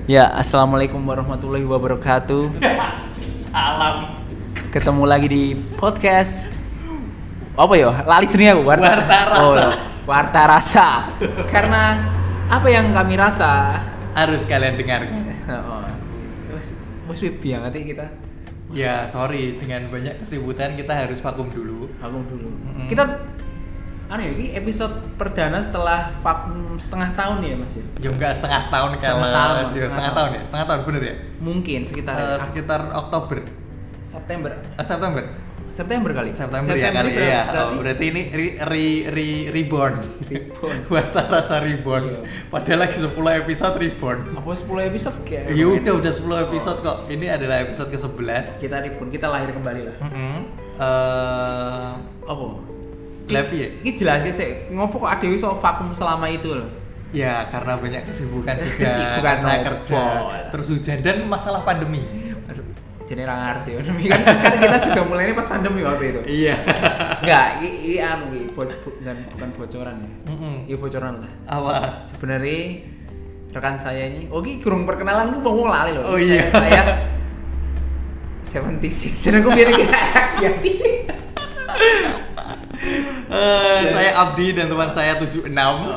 Ya, assalamualaikum warahmatullahi wabarakatuh. Salam. Ketemu lagi di podcast apa ya? Lali jenenge aku. Warta Rasa. Warta Rasa. Karena apa yang kami rasa Harus kalian dengarkan. Wes biang nanti kita Ya, sorry dengan banyak kesibukan kita harus vakum dulu. vakum dulu. Kita ini episode perdana setelah vakum setengah tahun ya, Mas ya? Ya enggak setengah tahun Setengah kalau tahun, setengah setengah tahun ya, setengah tahun bener ya? Mungkin sekitar Sekitar Oktober, September. September, September kali. September ya kali ya. Berarti ini reborn. Warta Rasa reborn. Iya. Padahal lagi 10 episode reborn. Apa 10 episode kayak? Ya udah 10 episode kok. Ini adalah episode ke-11. Kita reborn, kita lahir kembali lah. Apa? Lebih ya? Ini jelas sih, ngopo kok adewe iso vakum selama itu loh. Ya karena banyak kesibukan juga. Kesibukan Kan saya nopo. kerja, terus hujan dan masalah pandemi. Jadi ra ngarep sih pandemi kan kita juga mulainya pas pandemi waktu itu. Iya. Enggak, ini bukan bocoran ya. Ini bocoran lah. Apa? Sebenarnya rekan saya ini, ini kurang perkenalan gue mau lali loh. Oh iya. Saya 76. Jadi aku biar kira hati. Saya Abdi dan teman saya 76.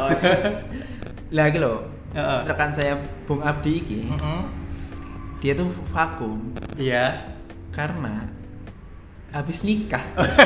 Lagi loh. Rekan saya Bung Abdi iki. Dia tuh vakum Iya. karena habis nikah.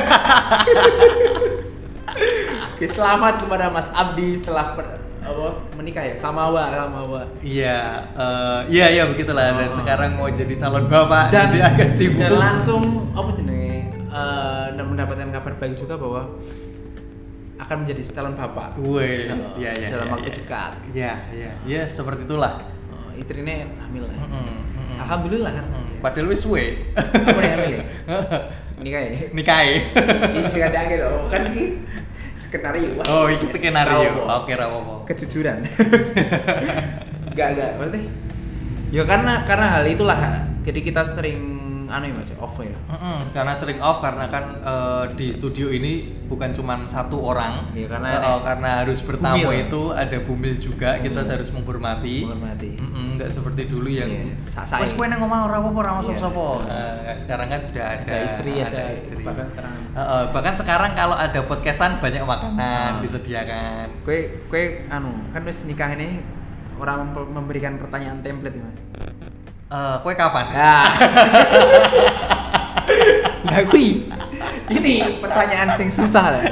Oke, selamat kepada Mas Abdi setelah menikah ya, Samawa. Iya, iya begitulah. Dan sekarang mau jadi calon bapak Dan jadi agak sibuk. Dan langsung apa jenenge? Dan mendapatkan kabar baik juga bahwa akan menjadi calon bapak. Wih, iya. Dalam waktu dekat. Iya, seperti itulah. Istrinya hamil lah. Alhamdulillah kan. Padahal wis suwe. Apa nih hamil ya? Nikah ya? Nikahe. Ini juga ada loh, kan ini skenario. Oh, ini skenario. Tahu, Oke, ra apa-apa. Kejujuran. Enggak, berarti. Ya karena hal itulah. Jadi kita sering ya Mas, off ya. Karena sering off karena kan di studio ini bukan cuma satu orang. Ya karena harus bertamu bumil. itu ada bumil juga, kita harus menghormati. Enggak seperti dulu yang wes kowe nang omah ora apa-apa ora sapa-sapa. Sekarang kan sudah ada istri. Bahkan sekarang kalau ada podcastan banyak makanan disediakan. Kowe kan wis nikah ini orang memberikan pertanyaan template ya Mas. Kowe kapan? Lah kui. Ini pertanyaan sing susah lah.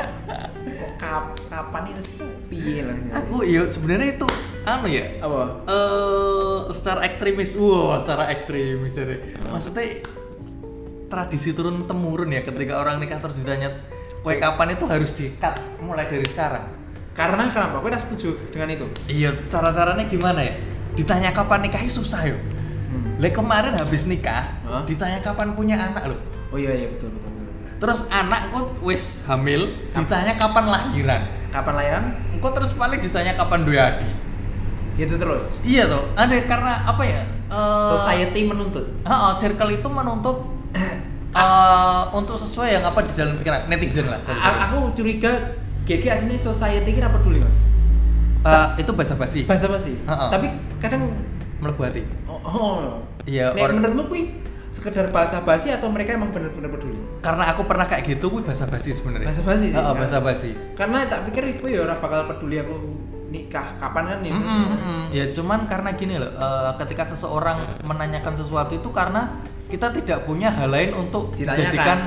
Kapan itu piye lah. Aku ya sebenarnya itu ya. Apa? Secara ekstremis. Secara ekstremis ya. Maksudnya tradisi turun temurun ya, ketika orang nikah terus ditanya kowe kapan, itu harus di-cut mulai dari sekarang. Karena kenapa? Kowe udah setuju dengan itu? Iya, cara-caranya gimana ya? Ditanya kapan nikahnya susah yo. Kemarin habis nikah, ditanya kapan punya anak loh. Oh iya betul. Terus anak kok wis hamil, ditanya kapan lahiran. Kapan lahiran? Engko terus paling ditanya kapan duwe adik. Gitu terus. Iya toh, ada karena apa ya? Society menuntut. Circle itu menuntut untuk sesuai yang apa di jalan pikiran netizen lah. Aku curiga GG aslinya society kira peduli Mas. Itu basa-basi. Tapi kadang melebu hati. Iya. Menurutmu kui sekedar basa-basi atau mereka emang benar-benar peduli? Karena aku pernah kayak gitu, kui basa-basi sebenarnya. Basa-basi sih. Basa-basi. Karena tak pikir kui ya ora bakal peduli aku nikah kapan kan ya. Ya cuman karena gini loh, ketika seseorang menanyakan sesuatu itu karena kita tidak punya hal lain untuk dijadikan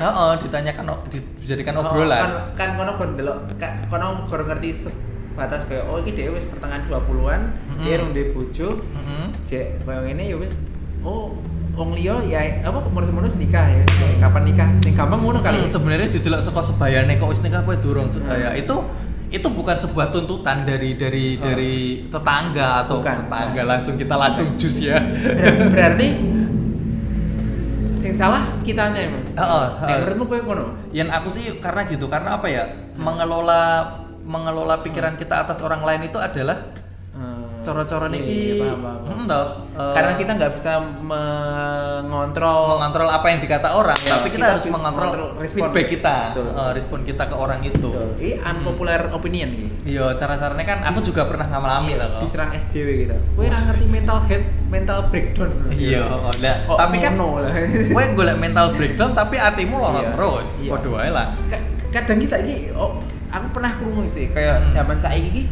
obrolan. Kan kono gondelok, kono ngerti batas kayak iki dhewe wis pertengahan 20-an, dia rung duwe bojo. Jek koyo ngene ya wis wong liya ya apa umur-umur nikah ya. Kapan nikah? Sing gampang ngono kali. Sebenarnya didelok saka sebayane kok wis nikah kowe durung sebaya. Itu bukan sebuah tuntutan dari tetangga atau tetangga langsung kita langsung jus ya. Berarti sing salah kitanya Mas. Menurutmu kowe ngono? Yang aku sih karena gitu, karena apa ya? Mengelola pikiran kita atas orang lain itu adalah coro-coro niki paham. Karena kita nggak bisa mengontrol apa yang dikata orang, ya, tapi kita harus mengontrol feedback kita, respon kita ke orang itu. Ini unpopular opinion nih. Iya, cara-caranya kan aku juga pernah ngalami lah kok. Diserang SJW gitu. Kowe ora ngerti mental breakdown. Iya, tapi kan kowe golek mental breakdown tapi atimu loro terus. Padha wae lah. Kadang ki saiki aku pernah krungu sih kayak zaman saiki ki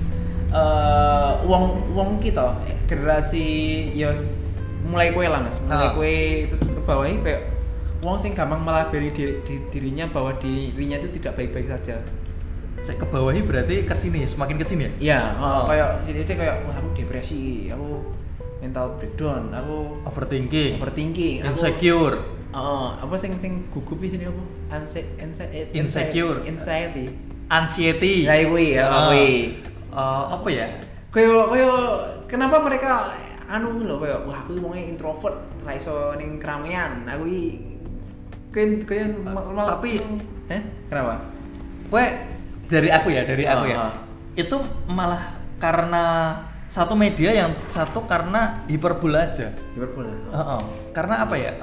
wong kita generasi mulai kue lah mas, mulai kue terus ke bawah ini kayak wong sing gampang melabeli dirinya bahwa dirinya itu tidak baik-baik saja. Saya ke bawah ini berarti kesini, semakin kesini ya? Iya, kayak jadi kayak wah aku depresi, aku mental breakdown, aku overthinking, insecure. Apa sing gugup di sini apa? Insecure, anxiety. Lah kuwi ya, apa ya? Kayak kenapa mereka lho kayak wah aku wongnya introvert, ra iso ning keramaian. Aku iki tapi kenapa? Kowe dari aku ya. Itu malah karena satu media yang satu karena hiperbola aja. Karena apa ya?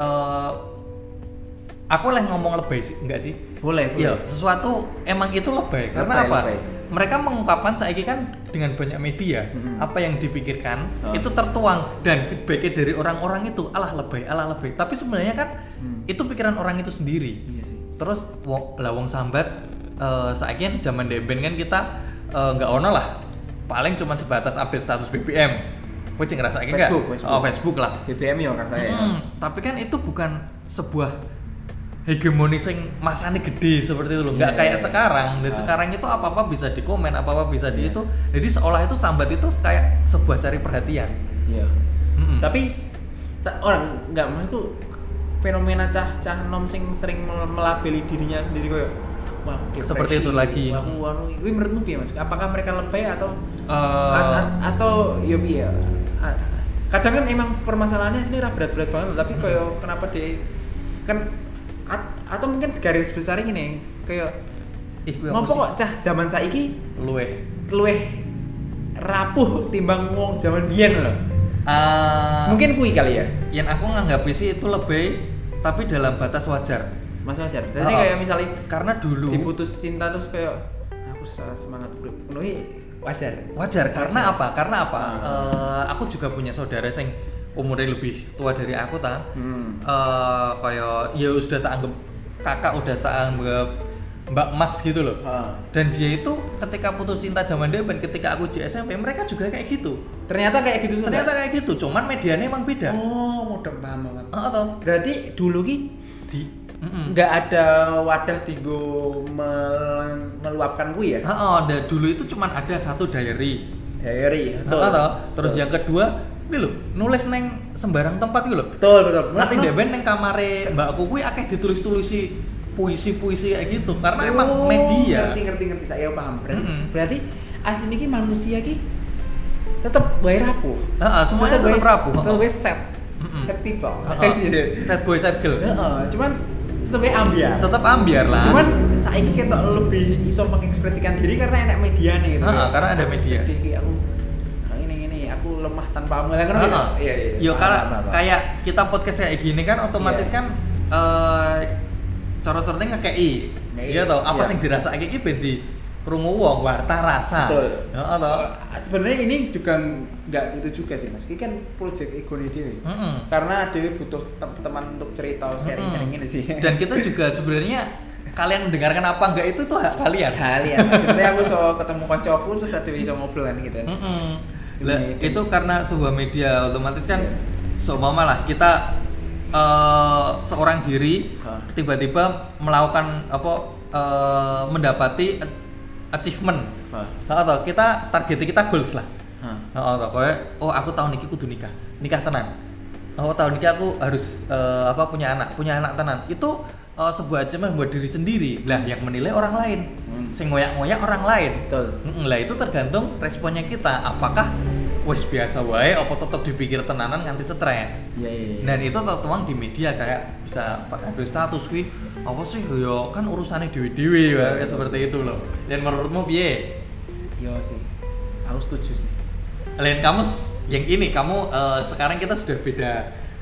Aku ngomong lebay sih, enggak sih? Boleh. Iya, sesuatu emang itu lebay. Karena apa? Mereka mengungkapkan saiki kan dengan banyak media, apa yang dipikirkan itu tertuang dan feedbacknya dari orang-orang itu alah lebay. Tapi sebenarnya kan itu pikiran orang itu sendiri. Iya sih. Terus wong sambat saiki zaman deben kan kita nggak ono lah. Paling cuma sebatas update status BBM. Kowe sing ngrasake enggak? Facebook lah. BBM ya rasanya. Tapi kan itu bukan sebuah hegemoni sing masane gede seperti itu loh. Enggak kayak sekarang. Dan sekarang itu apa-apa bisa dikomen, apa-apa bisa di itu. Jadi seolah itu sambat itu kayak sebuah cari perhatian. Iya. Tapi orang enggak maksud tuh fenomena cah nom sing sering melabeli dirinya sendiri kayak wah, depresi, seperti itu lagi. Kuwi menurutmu piye Mas? Apakah mereka lebay atau ya piye? Kadang kan emang permasalahannya sini berat-berat banget, tapi kayak kenapa kan atau mungkin garis besar ini kayak ngopo kok cah zaman saiki luweh rapuh timbang wong zaman biyen lho. Mungkin kuwi kali ya. Yang aku nganggapi sih itu lebih tapi dalam batas wajar. Mas wajar. Jadi kayak misalnya karena dulu diputus cinta terus kayak aku semangat urip. Wajar. Karena apa? Aku juga punya saudara yang umurnya lebih tua dari aku kayak ya sudah tak anggap kakak, udah tak anggap mbak mas gitu loh. Dan dia itu ketika putus cinta zaman deben, ketika aku di SMP mereka juga kayak gitu. Ternyata kayak gitu. Cuman medianya emang beda. Mudah paham banget. Berarti dulu nggak ada wadah tinggo meluapkan gue ya? Dan dulu itu cuman ada satu diary. Terus yang kedua ini lho, nulis neng sembarang tempat gitu loh. Betul. Nanti deben neng kamare mbakku kuwi akeh ditulis-tulisi puisi-puisi kayak gitu. Karena emang media. Ngerti saya paham. Berarti asli niki manusia ki tetep wae rapuh. Semuanya tetep rapuh. Tetep set people. Set boy, set girl. Cuman tetep ambiar lah. Cuman saiki ketok lebih iso mengekspresikan diri karena enak media nih gitu. Karena ada media. Sedih aku aku lemah tanpa amal kan. Iya. Yo karena kayak kita podcast kayak gini kan otomatis kan coro-corone ngekei. Iya toh, apa sing dirasake iki ben di krungu wong warta rasa. Betul. Heeh toh. Sebenarnya ini juga enggak itu juga sih Mas. Ini kan project egone dhewe. Karena dhewe butuh teman untuk cerita sharing ini sih. Dan kita juga sebenarnya kalian mendengarkan apa enggak itu tuh hak kalian. Sebenarnya aku ketemu kancaku terus ada bisa ngobrol kan gitu. Itu karena sebuah media otomatis kan seumpama lah kita seorang diri tiba-tiba melakukan mendapati achievement atau kita target kita goals lah. Aku tahun ini kudu nikah tenan. Tahun ini aku harus punya anak tenan. Itu sebuah achievement buat diri sendiri lah, yang menilai orang lain, sing ngoyak-ngoyak orang lain. Betul. Lah itu tergantung responnya kita, apakah wes biasa wae apa tetap dipikir tenanan nganti stres. Iya. Dan itu tertuang di media kayak bisa pakai status kuwi apa sih yo kan urusannya dewe-dewe seperti itu loh. Dan menurutmu piye? Yo sih. Aku setuju sih. Lain kamu yang ini kamu sekarang kita sudah beda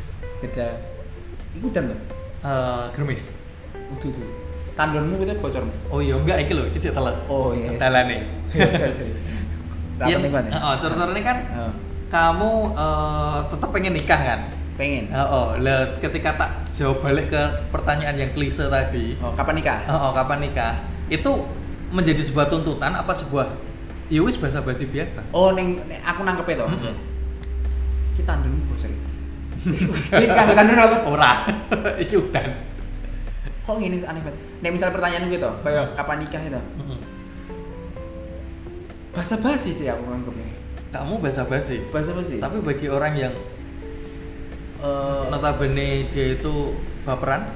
ikutan tuh Germis. udah tandonmu itu bocor Mas. Oh iya enggak iki lho, iki cek teles. Oh iya. Dalane. Iya, cor-corne kan kamu tetap pengen nikah kan? Pengen. Lah ketika tak jawab balik ke pertanyaan yang klise tadi. Kapan nikah? Kapan nikah? Itu menjadi sebuah tuntutan apa sebuah ya wis basa-basi biasa? Ning aku nangkep itu. Kita tandon bocor. Ini kan tandon apa? Ora. Iki udan. Kok gini aneh banget. Nek misal pertanyaan gitu, kayak kapan nikah itu? Basa-basi sih aku nganggepnya. Kamu basa-basi. Tapi bagi orang yang notabene dia itu baperan,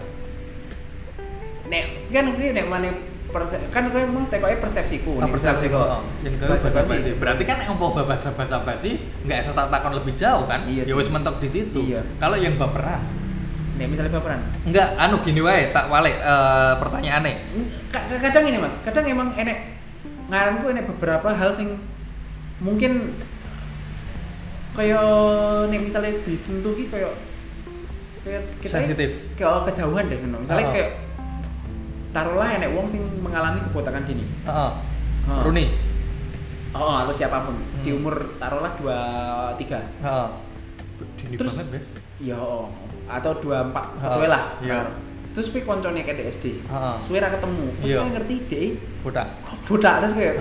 nek mana kan gue emang tekoke persepsiku. Persepsiku. Yang gue basa-basi. Berarti kan empo basa-basi enggak iso tak takon lebih jauh kan? Iya ya wis mentok di situ. Iya. Kalau yang baperan, nek misalnya baperan. Enggak, gini wae, tak wale pertanyaane. Kadang ini Mas, kadang emang enek ngaranku enek beberapa hal sing mungkin kayak nek misalnya disentuh ki kayak kita sensitif. Kayak kejauhan deh ngono. Misalnya kayak taruhlah enek wong sing mengalami kebotakan dini. Runi. Atau siapapun di umur taruhlah 23. Dini terus, banget, Bes. Iya, atau 24 betul lah. Iya. Terus kowe koncone kayak SD. Suwe ra ketemu. Terus kowe ngerti dhek bodak terus kayak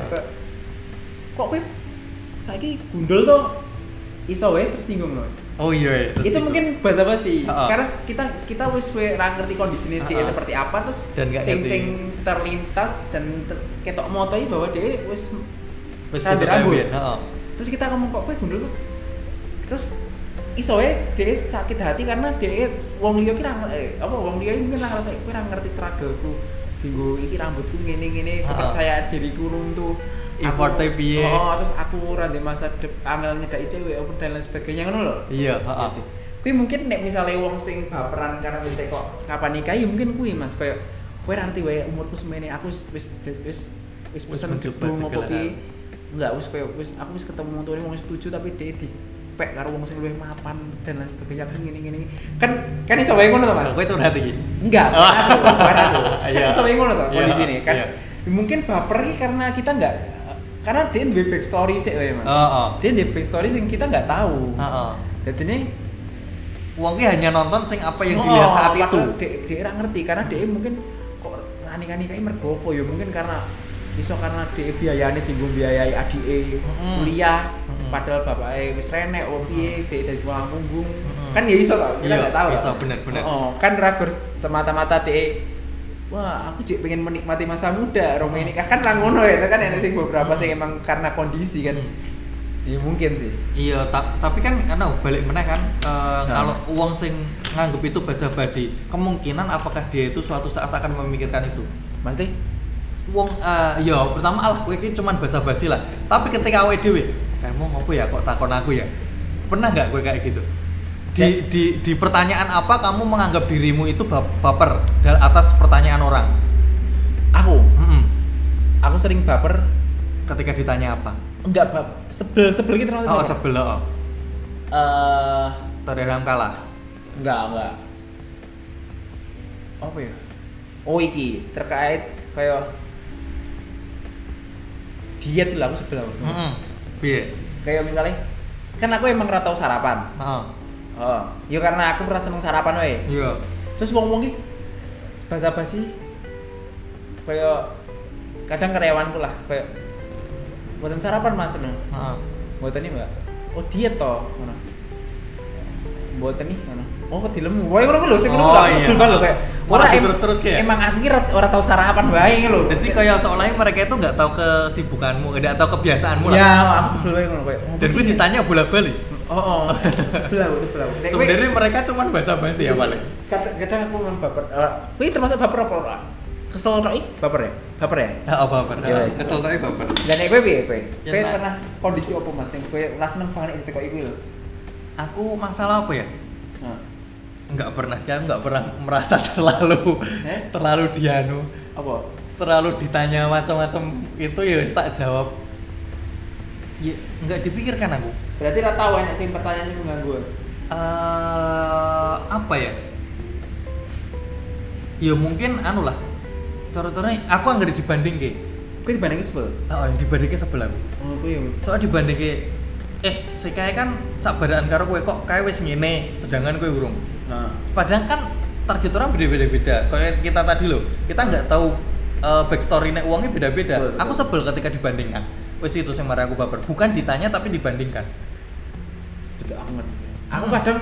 kok kowe saiki gundul to iso wae tersinggung Mas. Oh iya. Itu mungkin basa-basi. Karena kita wis ra ngerti kondisine dhek seperti apa terus sing terlintas dan ketok motoi bahwa dhek wis rambut. Terus kita ngomong kok kowe gundul to. Terus iso wae dhek sakit hati karena dhek wong liya ki wong liya mungkin ra ngerasa kowe ra ngerti struggle-ku. Dinggo iki rambutku ngene-ngene, kepercayaan diriku runtuh. Efforte piye? Terus aku ora ndek masa angel nyedaki cewek apa dan lain sebagainya ngono lho. Iya, Kuwi mungkin nek misale wong sing baperan karena wis kok kapan nikah ya mungkin kuwi Mas koyo kowe ra ngerti wae umurku semene aku wis pesen gedung opo piye. Enggak wis koyo aku wis ketemu tuane wong setuju tapi dhek dipek karo wong sing luwih mapan dan lain sebagainya kan ngene-ngene. Kan iso wae ngono to Mas. Kowe curhat iki. Enggak, aku. Kan iso wae ngono to kondisine kan. Mungkin baper iki karena kita enggak karena dia di backstory sih Mas. Dia di backstory sing kita nggak tahu. Jadi ini uangnya hanya nonton sing apa yang dilihat saat itu. Dia nggak ngerti karena dia mungkin kok nikah kayak mergo apa ya mungkin karena dia biayane tinggung biayai adike kuliah padahal bapaknya wis renek piye dia dari tulang punggung. Kan ya iso to, kita nggak tahu. Iso bener-bener. Kan ragus semata-mata dia wah, aku cek pengen menikmati masa muda, Rome nikah kan lah ngono ya, kan ada sih beberapa sih emang karena kondisi kan. Ya mungkin sih. Iya, tapi kan karena balik meneh kan kalau uang sing nganggep itu basa-basi, kemungkinan apakah dia itu suatu saat akan memikirkan itu. Maksudnya? Uang ya pertama kowe iki cuman basa-basi lah. Tapi ketika awake dhewe, kamu ngopo ya kok takon aku ya? Pernah enggak kowe kayak gitu? Di pertanyaan apa kamu menganggap dirimu itu baper atas pertanyaan orang? Aku sering baper ketika ditanya apa? Enggak, sebel gitu terus. Sebel. Terdalam kalah. Enggak. Apa ya? Iki terkait kayak diet lah aku sebel aku. Piye? Kayak misalnya kan aku emang ora tau sarapan. Ya karena aku merasa seneng sarapan wae. Iya. Terus wong-wong ki basa-basi kayak kadang karyawanku lah kayak mboten sarapan Mas ngono. Mboten iki, Mbak. Oh, diet to ngono. Mboten nih ngono. Oh, kok dilemu. Wae ngono lho sing ngono sebel banget lho kayak ora terus kayak. Emang aku kira ora tau sarapan wae lho. Jadi kayak seolah mereka itu enggak tahu kesibukanmu, enggak tahu kebiasaanmu lah. Ya, aku sebel wae ngono kayak. Dan gue ditanya bola-balik. Sebel aku. Sebenarnya mereka cuma basa-basi ya paling. Kadang aku memang baper. Kuwi termasuk baper apa ora? Kesel tok baper ya? Baper ya? Baper. Kesel tok baper. Lah nek kowe piye kowe? Kowe pernah kondisi apa Mas sing kowe ora seneng banget itu kok iku lho? Aku masalah apa ya? Enggak pernah merasa terlalu dianu. Apa? Terlalu ditanya macam-macam itu ya tak jawab. Ya enggak dipikirkan aku. Berarti ra tau enek sing pertanyaan sing mengganggu. Apa ya? Ya mungkin anu lah. Cara-caranya aku anggere dibandingke. Kowe dibandingke sebel. Yang dibandingke sebel aku. Oh, kowe yo. Soalnya dibandingke si kae kan sabaraan karo kowe kok kae wis ngene sedangkan kowe urung. Nah. Padahal kan target orang beda-beda. Kayak kita tadi loh, kita nggak tahu backstory-nya uangnya beda-beda. Betul. Aku sebel ketika dibandingkan. Wes itu yang marah aku baper. Bukan ditanya tapi dibandingkan. Itu aku ngerti sih. Aku kadang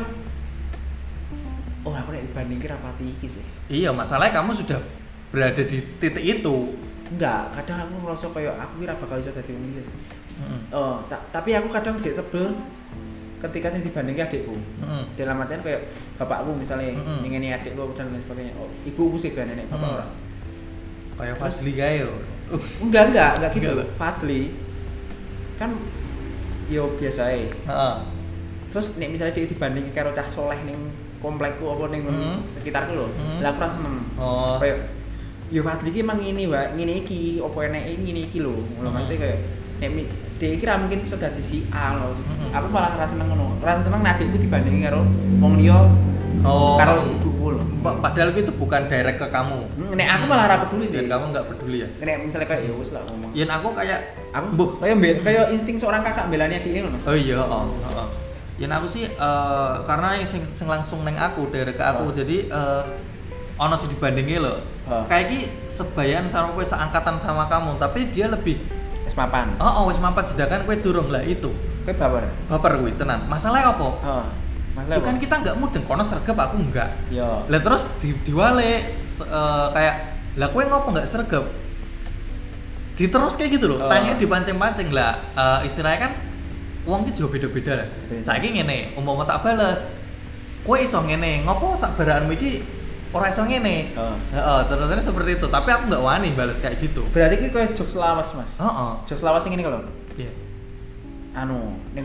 aku nek dibandingke rapati iki sih. Iya, masalahnya kamu sudah berada di titik itu. Enggak, kadang aku ngerasa kayak aku kira bakal iso dadi wong iki sih. Tapi aku kadang jek sebel ketika sing dibandingke adikku. Dalam artian kayak bapakku misalnya ngene adikku dan lain sebagainya. Oh, ibuku sih kan nenek bapak orang. Kayak Fadli kae yo. Enggak gitu. Enggak. Fadli kan yo biasa ae. Terus nek misalnya dia dibandingke karo cah soleh ning komplekku apa ning sekitarku lho. Lah aku ra seneng. Kayak yo Fadli ki emang ngene iki apa eneke ngene iki lho. Ngono maksudnya kayak nek dia kira mungkin sudah di si A loh. Aku malah rasa seneng ngono. Rasa seneng adikku dibandingin karo wong liya. Karo ibuku loh. Padahal itu bukan direct ke kamu. Nek aku malah ora peduli sih. Dan kamu enggak peduli ya. Nek misalnya kayak ya wis lah ngomong. Yen aku kayak kayak insting seorang kakak belani adike lho Mas. Oh iya, Yen aku sih karena yang sing langsung neng aku direct ke aku. Jadi ono sih dibandingin lho. Kayak iki sebayan sama kowe seangkatan sama kamu, tapi dia lebih wis mapan. Wis mapan sedangkan kowe durung lah itu. Kowe baper. Baper kuwi tenan. Masalahnya apa? Masalah kan kita enggak mudeng kono sregep aku enggak. Iya. Lah terus diwale kayak lah kowe ngopo enggak sregep? Diterus kayak gitu loh. Tanya dipancing-pancing lah. Istilahnya kan wong ki juga beda-beda lah. Saiki ngene, umpama tak bales. Kowe iso ngene, ngopo sak baraanmu iki ora iso ngene. Contohnya seperti itu, tapi aku enggak wani balas kayak gitu. Berarti ki koyo jokes lawas, Mas. Jokes lawas sing ngene kalau. Iya. Anu, ning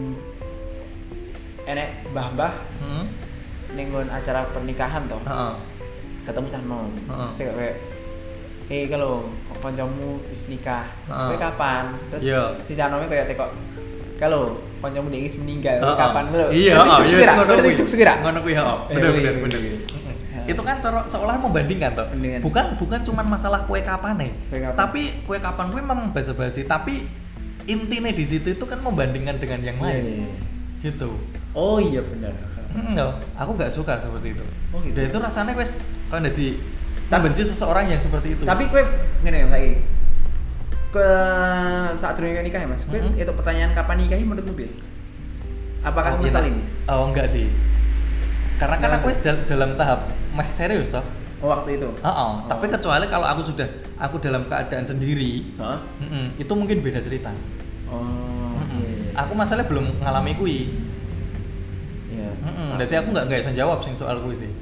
enek mbah-mbah ning acara pernikahan toh. Ketemu cah nom. Terus kayak kalau kancamu wis nikah, kowe kapan? Terus si cah nome kayak tekok kalau kancamu wis meninggal, kapan lho? Iya, ngono kuwi. Ngono kuwi, bener. Itu kan seolah membandingkan toh. Bukan cuman masalah kue kapan nih. Tapi kue kapan kue memang basa-basi, tapi intinya di situ itu kan membandingkan dengan yang lain. Gitu. Oh iya benar. Aku nggak suka seperti itu. Oh gitu. Dan itu rasanya wes kan jadi tak benci seseorang yang seperti itu. Tapi kue ngene saiki. Ke saat durunge nikah ya Mas. Kue itu pertanyaan kapan nikah menurutmu piye? Apakah ngeselin? Oh enggak sih. Karena kan aku dalam tahap serius toh. Waktu itu. Tapi kecuali kalau aku dalam keadaan sendiri, itu mungkin beda cerita. Iya. Aku masalahnya belum ngalami kui. Iya. Berarti aku nggak bisa jawab sing soal kui sih.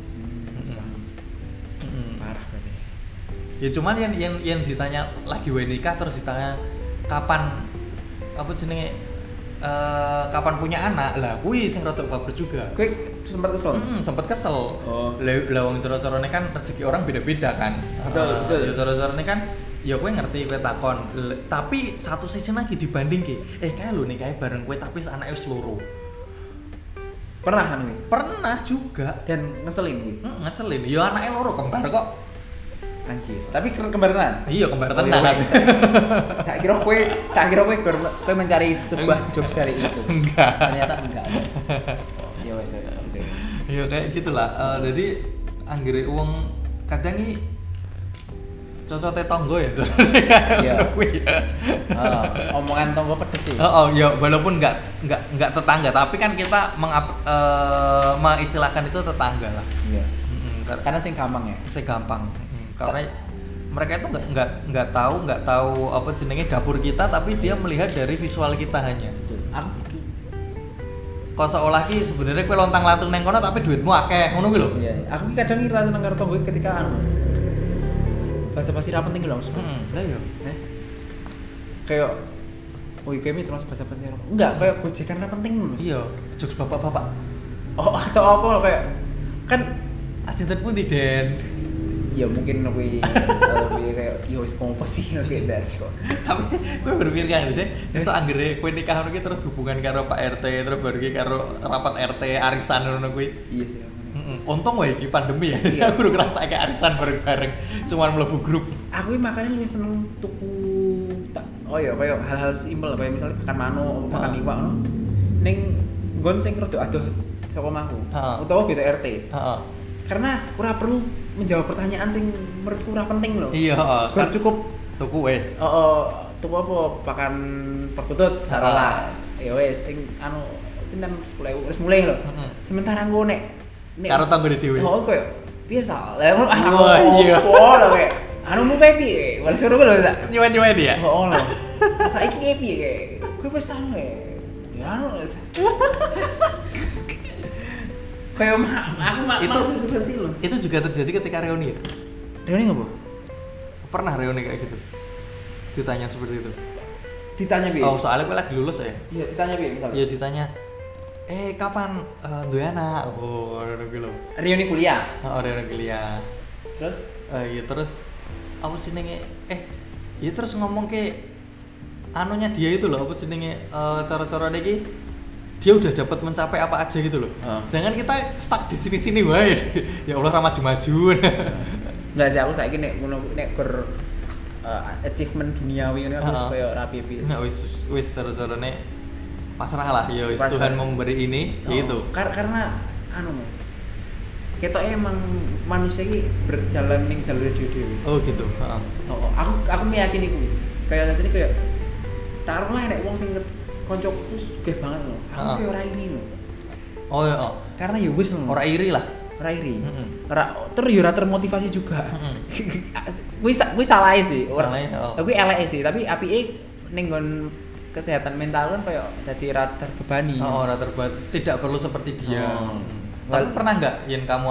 Parah berarti. Ya cuman yang ditanya lagi wae nikah terus ditanya kapan apa jenenge kapan punya anak lah kui sing rada baper juga. Kowe sempat kesel? Sempat kesel. Lah wong cara-carane kan rezeki orang beda-beda kan. Betul. Cara-carane kan ya kowe ngerti kowe takon. Tapi satu sisi lagi dibandingke. Kae lho nikahe bareng kowe tapi anake wis loro. Pernah kan kowe? Pernah juga Dan ngeselin iki. Ngeselin. Ya anake loro kembar kok. Anjir. Tapi kembar tenan? Iya, kembar tenan. Tak kira kowe mencari sebuah jokes dari itu. Enggak. Ternyata enggak. Ya wes oke. Ya kayak gitulah. Jadi anggere wong kadang iki cocote tonggo ya. Iya. Omongan tonggo pedes sih. Ya walaupun enggak tetangga, tapi kan kita mengistilahkan itu tetangga lah. Iya. Karena sing gampang ya. Sing gampang. Karena mereka itu nggak tahu apa jenenge dapur kita, tapi dia melihat dari visual kita hanya. Aku kok seolah ki sebenarnya kowe lontang-lantung neng kono tapi duitmu akeh ngono kuwi lho. Iya, aku ki kadang ngira seneng karo tonggo ketika Mas. Bahasa-basi ra penting lho, Mas. Lah iya. Kayak kami terus bahasa-basi enggak kayak gojekan ra penting lho. Iya, jokes bapak-bapak. Atau apa lho kayak kan asinten pun Den. ya mungkin lebih kayak ya wis kompo sih kayak dadi kok. Tapi kowe berpikir kan sih, sesuk anggere kowe nikah ngono ki terus hubungan karo Pak RT terus baru ki karo rapat RT arisan ngono kuwi. Iya sih. Untung wae iki pandemi ya. Iya. Aku udah ngerasa kayak arisan bareng-bareng, cuman mlebu grup. Aku makanya lebih seneng tuku oh ya kayak hal-hal simpel kayak misalnya makan manuk, makan iwak ngono. Ning nggon sing rada adoh saka omahku. Utawa beda RT. Heeh. Karena ora perlu menjawab pertanyaan sing menurutku ora penting loh. Iya, kan cukup tuku wis. Tuku apa pakan perkutut taruhlah. Ya wis sing anu pinten 10.000 wis mulai lho. Sementara engko nek karo tanggone dhewe. Oh koyo biasa. Lah iya. Oh lho kayak anu mu piye? Wis suruh lho tak. Nyewa-nyewa dia. Oh lho. Saiki ki piye kayak? Kowe wis anu ya anu. Kayak aku sih loh. Itu juga terjadi ketika reuni ya? Reuni apa? Pernah reuni kayak gitu? Ditanya seperti itu? Ditanya piye? Oh soalnya gue lagi lulus ya? Iya ditanya piye misalnya? Iya ditanya kapan duwe anak? Oh reuni lho. Reuni kuliah? Oh reuni kuliah. Terus? Iya terus apa jenenge? Ya terus ngomong ke anunya dia itu loh, apa jenenge cara-cara iki dia udah dapat mencapai apa aja gitu loh. Sedangkan kita stuck di sini-sini wae. Ya Allah ra maju-maju. Enggak sih aku saiki nek ngono nek achievement duniawi ngene aku koyo rapi piye. Nah wis cara-carane pasrah lah ya wis Tuhan memberi ini gitu. Karena anu Mas. Ketok emang manusia iki berjalan ning jalur dhewe-dhewe. Oh gitu, heeh. Aku meyakini kuwi. Kayak tadi kayak taruhlah nek wong sing koncoku sugih banget loh. Aku kayak ora iri loh. Oh iya. Karena ya wis loh. Ora iri lah. Ora iri. Ora termotivasi juga. Wis salah sih. Kuwi eleke sih, tapi apike ning nggon kesehatan mental kan kayak dadi ra terbebani. Ora tidak perlu seperti dia. Tapi pernah enggak yen kamu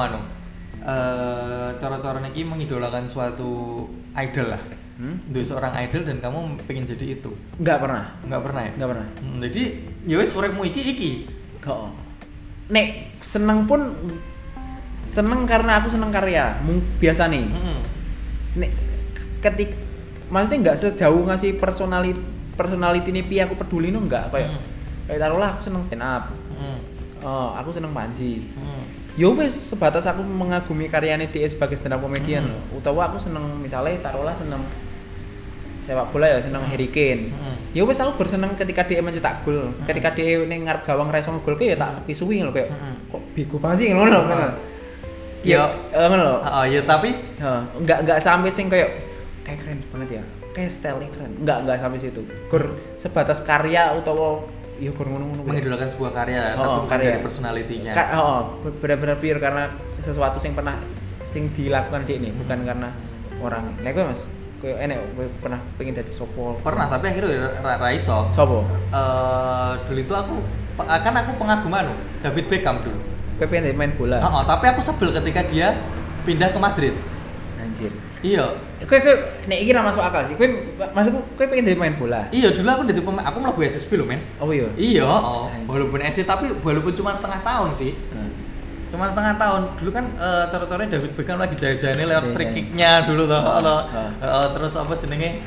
cara-cara niki mengidolakan suatu idol lah? Duwe seorang idol dan kamu pengen jadi itu? Enggak pernah ya? Enggak pernah. Jadi ya wis uripmu iki. Heeh. Nek seneng pun seneng karena aku seneng karya. Biasa nih. Nek maksudnya enggak sejauh ngasih personality ini piye aku peduli no enggak kayak taruhlah aku seneng stand up. Aku seneng Panji. Ya wis sebatas aku mengagumi karyane dia sebagai stand up comedian loh. Utawa aku seneng misalnya taruhlah seneng sepak bola ya seneng Harry Kane. Ya wis aku berseneng ketika dia mencetak gol. Ketika dia ning ngarep gawang ra iso ngegol ya tak pisui lho kayak kok bego banget sih ngono lho kan. Ya ngono lho. Ya tapi enggak sampai sing kayak keren banget ya. Kayak style keren. Enggak sampai situ. Gur sebatas karya utawa ya gur ngono-ngono. Mengidolakan sebuah karya tapi bukan dari personality-nya. Benar-benar pure karena sesuatu yang pernah sing dilakukan dia ini bukan karena orang. Nek kowe Mas, kowe enek pernah pengen dadi sopo? Pernah, tapi akhirnya ra iso. Sopo? Dulu itu aku pengaguman David Beckham dulu. Kowe pengen main bola? Tapi aku sebel ketika dia pindah ke Madrid. Anjir. Iya. Kowe nek iki ra masuk akal sih. Maksudku kowe pengen dadi main bola? Iya, dulu aku dadi pemain. Aku mlebu SSB lho, men. Oh iya. Iya, walaupun SD tapi walaupun cuma setengah tahun sih. Cuma setengah tahun. Dulu kan cara-caranya David Beckham lagi jaya-jayane lewat free kick-nya dulu toh. Terus apa jenenge?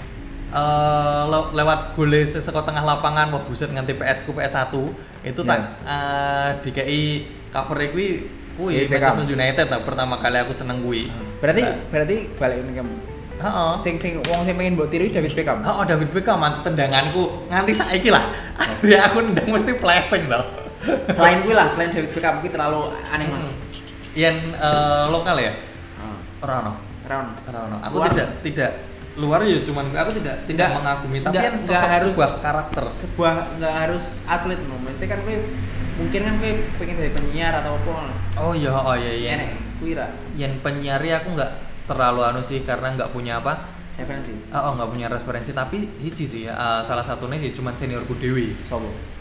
Lewat gole saka tengah lapangan, wah buset nganti PS1 itu tak DKI cover kuwi Manchester United lah pertama kali aku seneng kuwi. Berarti balik ning kamu. Sing wong sing pengen mbok tiru David Beckham. David Beckham mantu tendanganku nganti saiki lah. Ya aku nendang mesti flashing tau. Selain David Beckham iki terlalu aneh Mas. Yen lokal ya? Ora ono. Aku tidak luar ya cuman aku tidak mengagumi tapi kan sebuah karakter. Enggak harus atlet no. Mesti kan kowe mungkin kan kowe pengen jadi penyiar atau apa. Oh iya. Nek kuwi ra. Yen penyiar aku enggak terlalu sih karena enggak punya referensi. Enggak punya referensi tapi sih salah satunya sih cuman seniorku dewi. Sopo?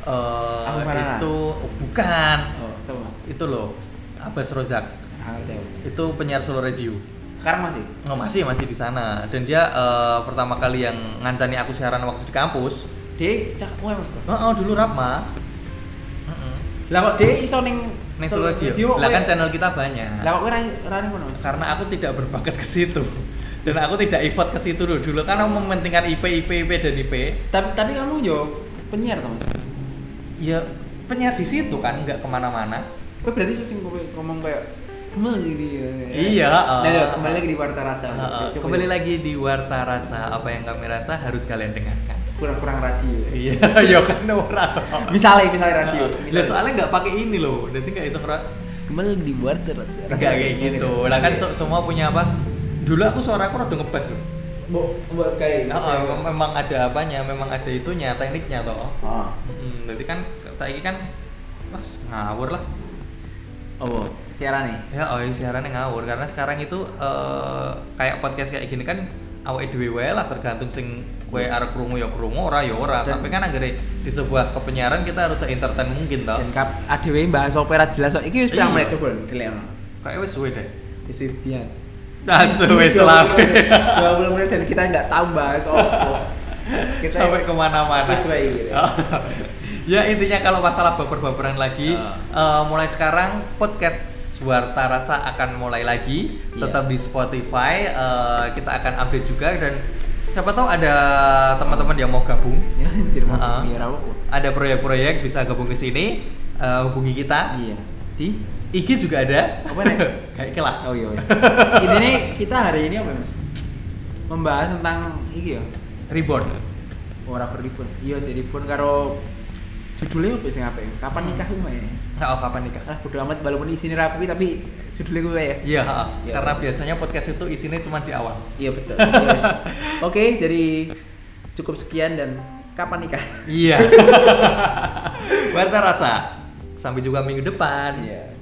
Itu bukan. Sopo? Itu loh Abbas Rozak. Itu penyiar Solo Radio. Sekarang masih? Masih di sana dan dia pertama kali yang ngancani aku siaran waktu di kampus. Dia cakep Mas. Dulu Rapma. Lah kok dia iso ning Solo Radio. Lah kan channel kita banyak. Lah kok ora ning kono? Karena aku tidak berbakat ke situ. Dan aku tidak effort ke situ dulu kan aku mementingkan IP dan IP. Tapi kamu yo penyiar toh, Mas? Ya penyiar di situ kan, nggak kemana-mana. Kok berarti sing ngomong kayak kembali di Iya, kembali lagi di Warta Rasa. Kembali lagi di Warta Rasa, apa yang kami rasa harus kalian dengarkan. Kurang radio. Iya, ya kan ora toh. Misalnya radio. Lah soalnya nggak pakai ini loh, jadi nggak iso kembali di Warta Rasa. Nggak kayak gitu. Lah kan semua punya apa? Dulu aku suaraku rada ngebas loh. Mbok kayak. Memang ada apanya, memang ada itunya, tekniknya toh. Jadi kan saiki kan Mas ngawur lah. Oh, siaran nih? Ya, siarannya ngawur karena sekarang itu kayak podcast kayak gini kan awake dhewe wae lah tergantung sing kowe arep krungu ya krungu, ora ya ora. Tapi kan anggere di sebuah kepenyiaran kita harus se-entertain mungkin toh. Dan dhewe bahas opera jelas kok. Iki wis pirang menit coba dilekno. Kayak wis suwe deh. Wis pian. Wis lama. 20 menit dan kita enggak tahu bahas apa. Kita sampai kemana-mana. Wis wae gitu. Ya intinya kalau masalah baper-baperan lagi, mulai sekarang podcast Warta Rasa akan mulai lagi, tetap di Spotify. Kita akan update juga dan siapa tahu ada teman-teman yang mau gabung. Ya, ada proyek-proyek bisa gabung ke sini, hubungi kita. Iya. Di IG juga ada. Apa nih? Kayak kelah. Oh iya. Ini nih kita hari ini apa Mas? Membahas tentang iki ya. Reborn. Ora berlibur. Iya sih reborn karo judulnya apa sih ngapain? Kapan nikah rumah ya? Kapan nikah? Bodo amat walaupun isinya rapi tapi judulnya gue ya. Iya, karena biasanya podcast itu isinya cuma di awal. Iya betul. Oke, jadi cukup sekian dan kapan nikah? Iya. Warta Rasa. Sampai juga minggu depan. Iya.